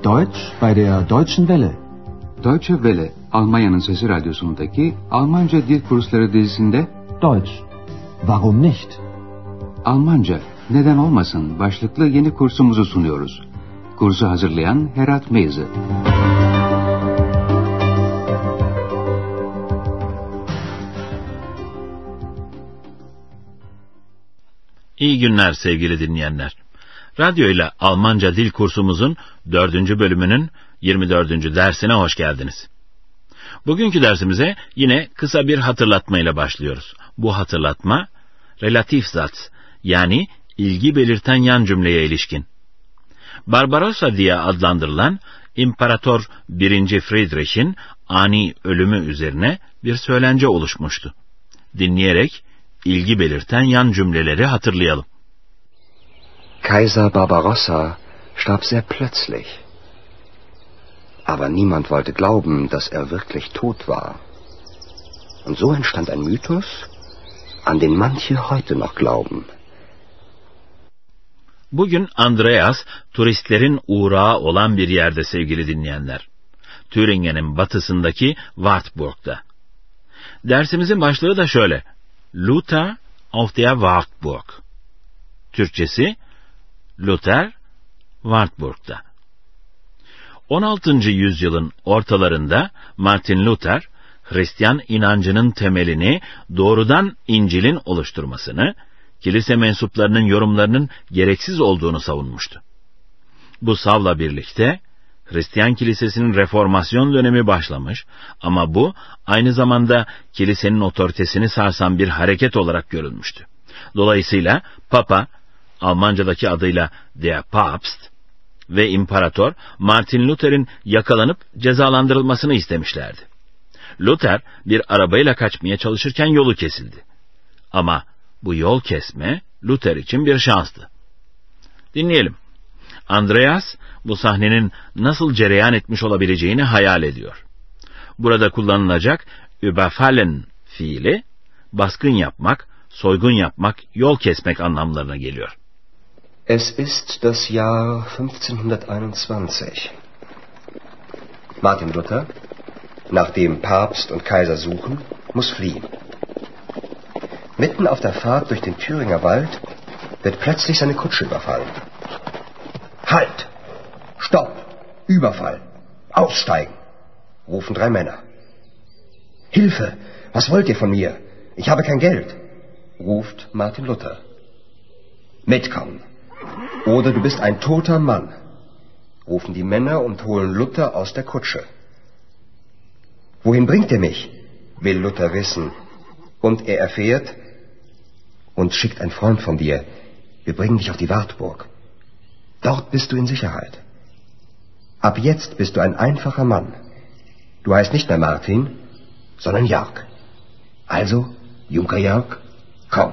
Deutsch bei der Deutschen Welle. Deutsche Welle, Almanya'nın Sesi Radyosu'ndaki Almanca Dil Kursları dizisinde Deutsch. Warum nicht? Almanca, neden olmasın başlıklı yeni kursumuzu sunuyoruz. Kursu hazırlayan Herat Meyze. İyi günler sevgili dinleyenler. Radyo ile Almanca dil kursumuzun 4. bölümünün 24. dersine hoş geldiniz. Bugünkü dersimize yine kısa bir hatırlatmayla başlıyoruz. Bu hatırlatma, Relativsatz yani ilgi belirten yan cümleye ilişkin. Barbarossa diye adlandırılan İmparator 1. Friedrich'in ani ölümü üzerine bir söylence oluşmuştu. Dinleyerek ilgi belirten yan cümleleri hatırlayalım. Kaiser Barbarossa starb sehr plötzlich. Aber niemand wollte glauben, dass er wirklich tot war. Und so entstand ein Mythos, an den manche heute noch glauben. Bugün Andreas, turistlerin uğrağı olan bir yerde sevgili dinleyenler. Thüringen'in batısındaki Wartburg'da. Dersimizin başlığı da şöyle. Luther auf der Wartburg. Türkçesi, Luther, Wartburg'da. 16. yüzyılın ortalarında Martin Luther, Hristiyan inancının temelini doğrudan İncil'in oluşturmasını, kilise mensuplarının yorumlarının gereksiz olduğunu savunmuştu. Bu savla birlikte, Hristiyan kilisesinin reformasyon dönemi başlamış ama bu aynı zamanda kilisenin otoritesini sarsan bir hareket olarak görülmüştü. Dolayısıyla Papa, Almancadaki adıyla Der Papst ve İmparator Martin Luther'in yakalanıp cezalandırılmasını istemişlerdi. Luther bir arabayla kaçmaya çalışırken yolu kesildi. Ama bu yol kesme Luther için bir şanstı. Dinleyelim. Andreas bu sahnenin nasıl cereyan etmiş olabileceğini hayal ediyor. Burada kullanılacak überfallen fiili baskın yapmak, soygun yapmak, yol kesmek anlamlarına geliyor. Es ist das Jahr 1521. Martin Luther, nachdem Papst und Kaiser suchen, muss fliehen. Mitten auf der Fahrt durch den Thüringer Wald wird plötzlich seine Kutsche überfallen. Halt! Stopp! Überfall! Aussteigen! Rufen 3 Männer. Hilfe! Was wollt ihr von mir? Ich habe kein Geld! Ruft Martin Luther. Mitkommen! Oder du bist ein toter Mann! Rufen die Männer und holen Luther aus der Kutsche. Wohin bringt ihr mich? Will Luther wissen. Und er erfährt, uns schickt ein Freund von dir. Wir bringen dich auf die Wartburg. Dort bist du in Sicherheit. Ab jetzt bist du ein einfacher Mann. Du heißt nicht mehr Martin, sondern Jörg. Also, Junker Jörg, komm.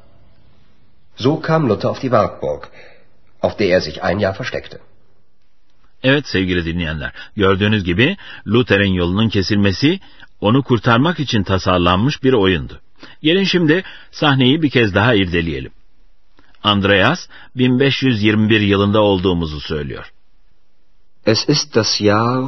So kam Luther auf die Wartburg, auf der er sich ein Jahr versteckte. Evet sevgili dinleyenler, gördüğünüz gibi Luther'in yolunun kesilmesi onu kurtarmak için tasarlanmış bir oyundu. Gelin şimdi sahneyi bir kez daha irdeleyelim. Andreas 1521 yılında olduğumuzu söylüyor. Es ist das Jahr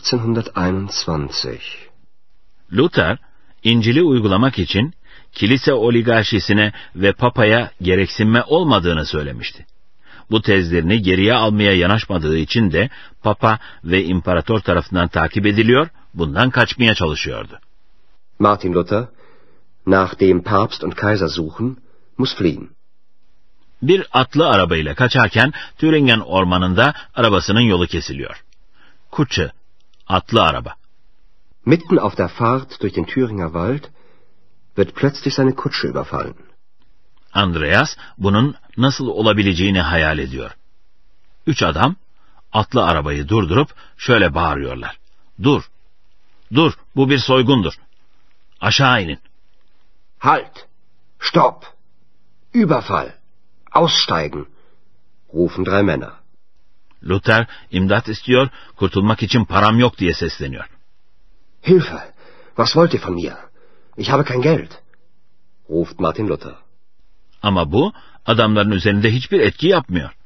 1521. Luther, İncil'i uygulamak için kilise oligarşisine ve papaya gereksinme olmadığını söylemişti. Bu tezlerini geriye almaya yanaşmadığı için de papa ve imparator tarafından takip ediliyor, bundan kaçmaya çalışıyordu. Martin Luther, nachdem Papst und Kaiser suchen, muss fliehen. Bir atlı arabayla kaçarken Thüringen ormanında arabasının yolu kesiliyor. Kutsche, atlı araba. Mitten auf der Fahrt durch den Thüringer Wald wird plötzlich seine Kutsche überfallen. Andreas bunun nasıl olabileceğini hayal ediyor. 3 adam atlı arabayı durdurup şöyle bağırıyorlar. Dur, dur, bu bir soygundur. Aşağı inin. Halt, stopp, Überfall, aussteigen, rufen 3 Männer. Luther imdat istiyor, kurtulmak için param yok diye sesleniyor. Hilfe, was wollt ihr von mir? Ich habe kein Geld, ruft Martin Luther. Ama bu adamların üzerinde hiçbir etki yapmıyor.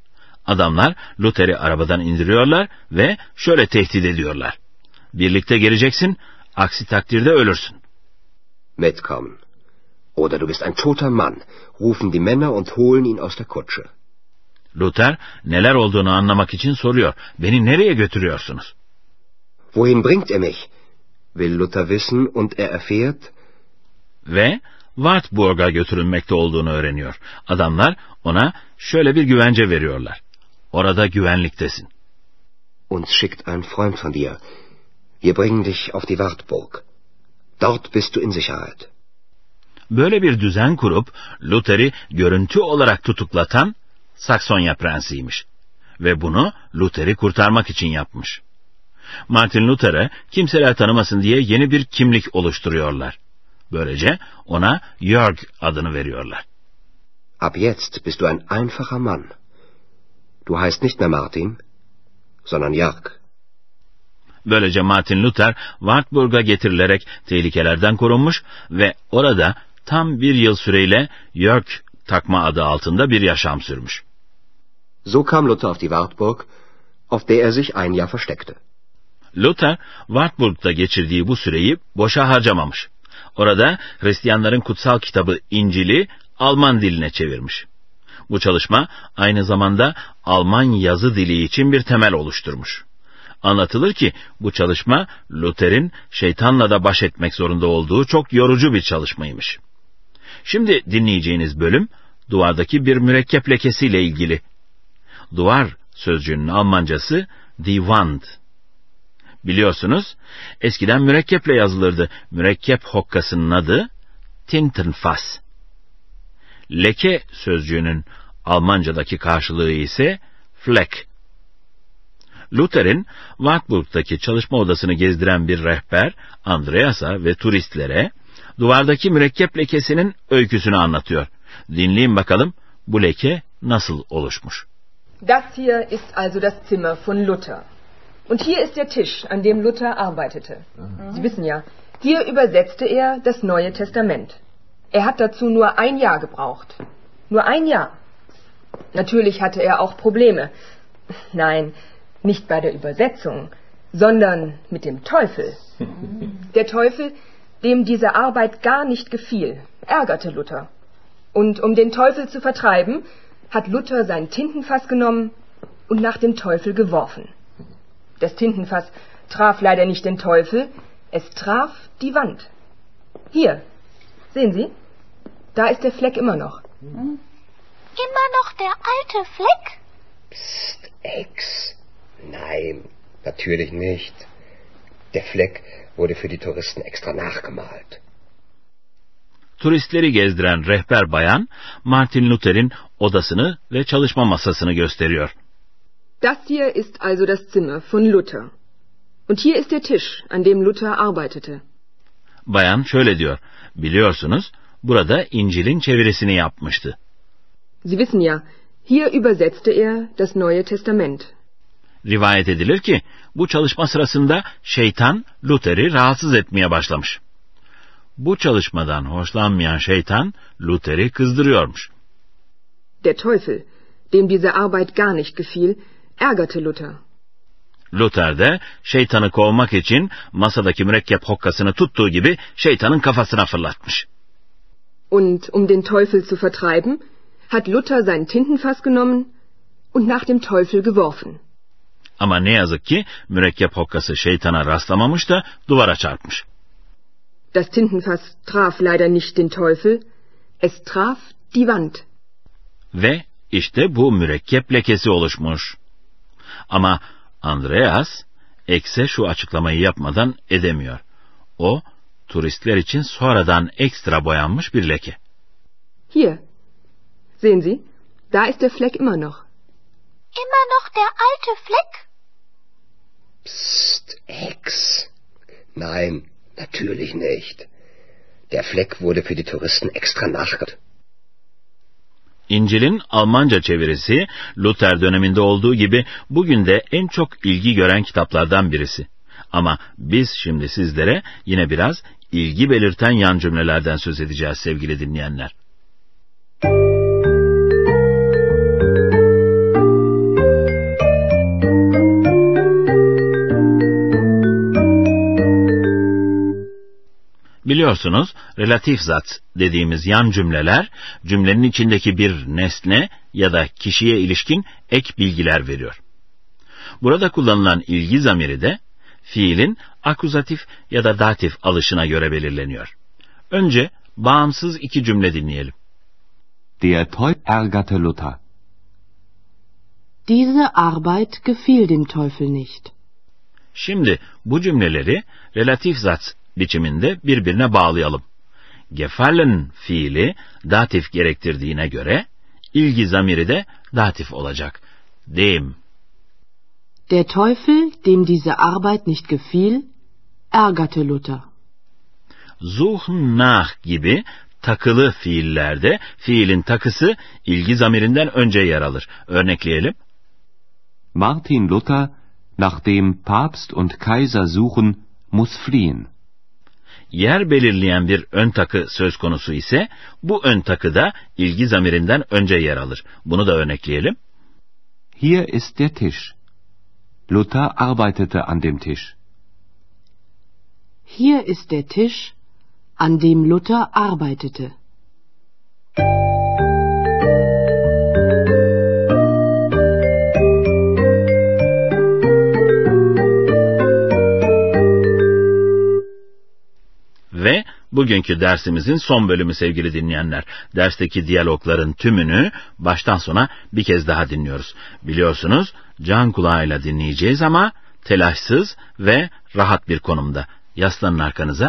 Adamlar Luther'i arabadan indiriyorlar ve şöyle tehdit ediyorlar. Birlikte geleceksin, aksi takdirde ölürsün. Mitkommen. Oder du bist ein toter Mann, rufen die Männer und holen ihn aus der Kutsche. Luther neler olduğunu anlamak için soruyor. Beni nereye götürüyorsunuz? Wohin bringt er mich? Will Luther wissen und er erfährt? Ve Wartburg'a götürülmekte olduğunu öğreniyor. Adamlar ona şöyle bir güvence veriyorlar. Orada güvenliktesin. Uns schickt ein Freund von dir. Wir bringen dich auf die Wartburg. Dort bist du in Sicherheit. Böyle bir düzen kurup Luther'i görüntü olarak tutuklatan Saksonya prensiymiş. Ve bunu Luther'i kurtarmak için yapmış. Martin Luther'e kimseler tanımasın diye yeni bir kimlik oluşturuyorlar. Böylece ona Jörg adını veriyorlar. Ab jetzt bist du ein einfacher Mann. Du heißt nicht mehr Martin, sondern Jörg. Böylece Martin Luther Wartburg'a getirilerek tehlikelerden korunmuş ve orada tam bir yıl süreyle Jörg takma adı altında bir yaşam sürmüş. So kam Luther auf die Wartburg, auf der er sich ein Jahr versteckte. Luther, Wartburg'da geçirdiği bu süreyi boşa harcamamış. Orada Hristiyanların kutsal kitabı İncil'i Alman diline çevirmiş. Bu çalışma aynı zamanda Alman yazı dili için bir temel oluşturmuş. Anlatılır ki bu çalışma Luther'in şeytanla da baş etmek zorunda olduğu çok yorucu bir çalışmaymış. Şimdi dinleyeceğiniz bölüm duvardaki bir mürekkep lekesiyle ilgili. Duvar sözcüğünün Almancası die Wand. Biliyorsunuz eskiden mürekkeple yazılırdı. Mürekkep hokkasının adı Tintenfass. Leke sözcüğünün Almancadaki karşılığı ise Fleck. Luther'in Wartburg'daki çalışma odasını gezdiren bir rehber Andreas'a ve turistlere duvardaki mürekkep lekesinin öyküsünü anlatıyor. Dinleyin bakalım bu leke nasıl oluşmuş. Das hier ist also das Zimmer von Luther. Und hier ist der Tisch, an dem Luther arbeitete. Sie wissen ja, hier übersetzte er das Neue Testament. Er hat dazu nur ein Jahr gebraucht. Nur ein Jahr. Natürlich hatte er auch Probleme. Nein, nicht bei der Übersetzung, sondern mit dem Teufel. Der Teufel, dem diese Arbeit gar nicht gefiel, ärgerte Luther. Und um den Teufel zu vertreiben, hat Luther sein Tintenfass genommen und nach dem Teufel geworfen. Das Tintenfass traf leider nicht den Teufel, es traf die Wand. Hier, sehen Sie, da ist der Fleck immer noch. Immer noch der alte Fleck? Psst, Ex. Nein, natürlich nicht. Der Fleck wurde für die Touristen extra nachgemalt. Turistleri gezdiren rehber bayan Martin Luther'in odasını ve çalışma masasını gösteriyor. Das hier ist also das Zimmer von Luther. Und hier ist der Tisch, an dem Luther arbeitete. Bayan şöyle diyor, biliyorsunuz burada İncil'in çevirisini yapmıştı. Sie wissen ja, hier übersetzte er das Neue Testament. Rivayet edilir ki bu çalışma sırasında şeytan Luther'i rahatsız etmeye başlamış. Bu çalışmadan hoşlanmayan şeytan Luther'i kızdırıyormuş. Der Teufel, dem diese Arbeit gar nicht gefiel, ärgerte Luther. Luther de şeytanı kovmak için masadaki mürekkep hokkasını tuttuğu gibi şeytanın kafasına fırlatmış. Und um den Teufel zu vertreiben, hat Luther sein Tintenfass genommen und nach dem Teufel geworfen. Ama ne yazık ki mürekkep hokkası şeytana rastlamamış da duvara çarpmış. Das Tintenfass traf leider nicht den Teufel, es traf die Wand. Ve işte bu mürekkep lekesi oluşmuş. Ama Andreas, X'e şu açıklamayı yapmadan edemiyor. O, turistler için sonradan ekstra boyanmış bir leke. Hier, sehen Sie, da ist der Fleck immer noch. Immer noch der alte Fleck? Psst, Ex. Nein, natürlich nicht. Der Fleck wurde für die Touristen extra nachgemalt. İncil'in Almanca çevirisi Luther döneminde olduğu gibi bugün de en çok ilgi gören kitaplardan birisi. Ama biz şimdi sizlere yine biraz ilgi belirten yan cümlelerden söz edeceğiz sevgili dinleyenler. Biliyorsunuz, relatif zat dediğimiz yan cümleler, cümlenin içindeki bir nesne ya da kişiye ilişkin ek bilgiler veriyor. Burada kullanılan ilgi zamiri de, fiilin akuzatif ya da datif alışına göre belirleniyor. Önce bağımsız iki cümle dinleyelim. Der Teufel ärgerte Luther. Diese Arbeit gefiel dem Teufel nicht. Şimdi bu cümleleri relatif zat biçiminde birbirine bağlayalım. Gefallen fiili datif gerektirdiğine göre ilgi zamiri de datif olacak. Dem. Der Teufel, dem diese Arbeit nicht gefiel, ärgerte Luther. Suchen nach gibi takılı fiillerde fiilin takısı ilgi zamirinden önce yer alır. Örnekleyelim. Martin Luther, nachdem Papst und Kaiser suchen, muss fliehen. Yer belirleyen bir ön takı söz konusu ise bu ön takı da ilgi zamirinden önce yer alır. Bunu da örnekleyelim. Hier ist der Tisch. Luther arbeitete an dem Tisch. Hier ist der Tisch, an dem Luther arbeitete. Ve bugünkü dersimizin son bölümü sevgili dinleyenler. Dersteki diyalogların tümünü baştan sona bir kez daha dinliyoruz. Biliyorsunuz can kulağıyla dinleyeceğiz ama telaşsız ve rahat bir konumda. Yaslanın arkanıza.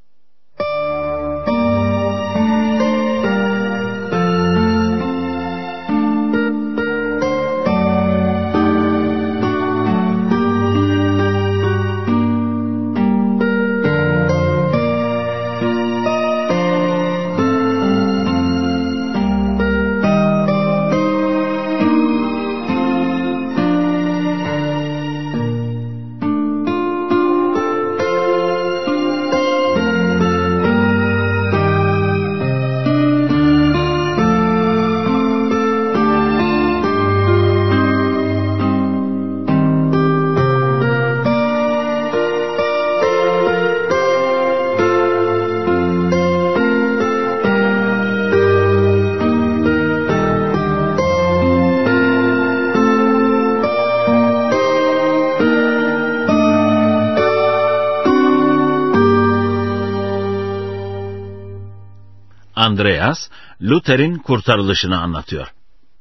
Andreas, Luther'in kurtarılışını anlatıyor.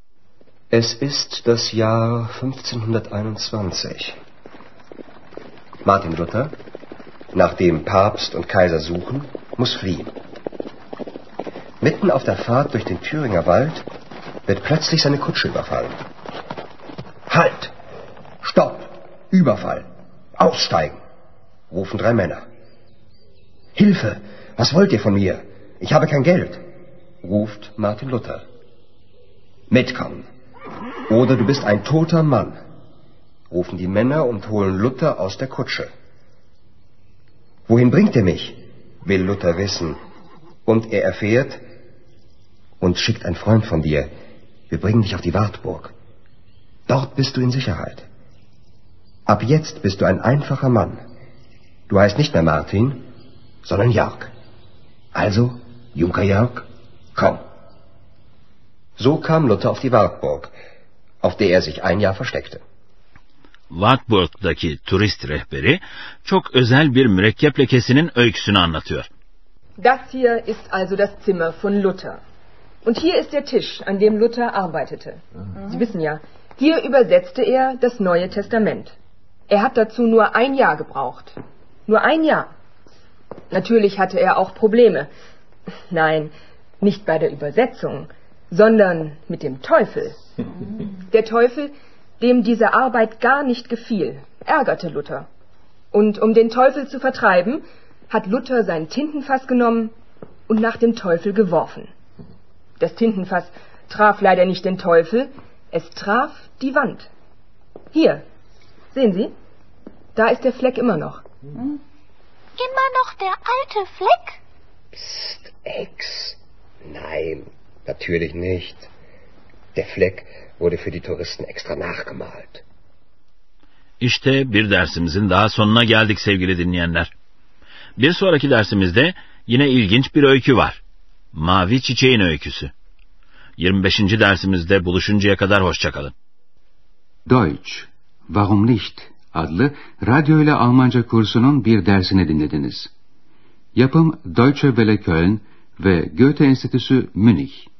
Es ist das Jahr 1521. Martin Luther, nachdem Papst und Kaiser suchen, muss fliehen. Mitten auf der Fahrt durch den Thüringer Wald wird plötzlich seine Kutsche überfallen. Halt! Stopp! Überfall! Aussteigen! Rufen 3 Männer. Hilfe! Was wollt ihr von mir? Ich habe kein Geld, ruft Martin Luther. Mitkommen. Oder du bist ein toter Mann, rufen die Männer und holen Luther aus der Kutsche. Wohin bringt ihr mich? Will Luther wissen. Und er erfährt, uns schickt ein Freund von dir. Wir bringen dich auf die Wartburg. Dort bist du in Sicherheit. Ab jetzt bist du ein einfacher Mann. Du heißt nicht mehr Martin, sondern Jörg. Also, Junker Jörg, komm. So kam Luther auf die Wartburg, auf der er sich ein Jahr versteckte. Wartburg'daki turist rehberi çok özel bir mürekkep lekesinin öyküsünü anlatıyor. Das hier ist also das Zimmer von Luther. Und hier ist der Tisch, an dem Luther arbeitete. Sie wissen ja, hier übersetzte er das Neue Testament. Er hat dazu nur ein Jahr gebraucht. Nur ein Jahr. Natürlich hatte er auch Probleme. Nein, nicht bei der Übersetzung, sondern mit dem Teufel. Der Teufel, dem diese Arbeit gar nicht gefiel, ärgerte Luther. Und um den Teufel zu vertreiben, hat Luther sein Tintenfass genommen und nach dem Teufel geworfen. Das Tintenfass traf leider nicht den Teufel, es traf die Wand. Hier, sehen Sie, da ist der Fleck immer noch. Immer noch der alte Fleck? Psst, Ex. Nein, natürlich nicht. Der Fleck wurde für die Touristen extra nachgemalt. İşte bir dersimizin daha sonuna geldik sevgili dinleyenler. Bir sonraki dersimizde yine ilginç bir öykü var. Mavi Çiçeğin Öyküsü. 25. dersimizde buluşuncaya kadar hoşça kalın. Deutsch, Warum nicht? Adlı radyo ile Almanca kursunun bir dersini dinlediniz. Yapım Deutsche Welle Köln ve Goethe Enstitüsü Münih.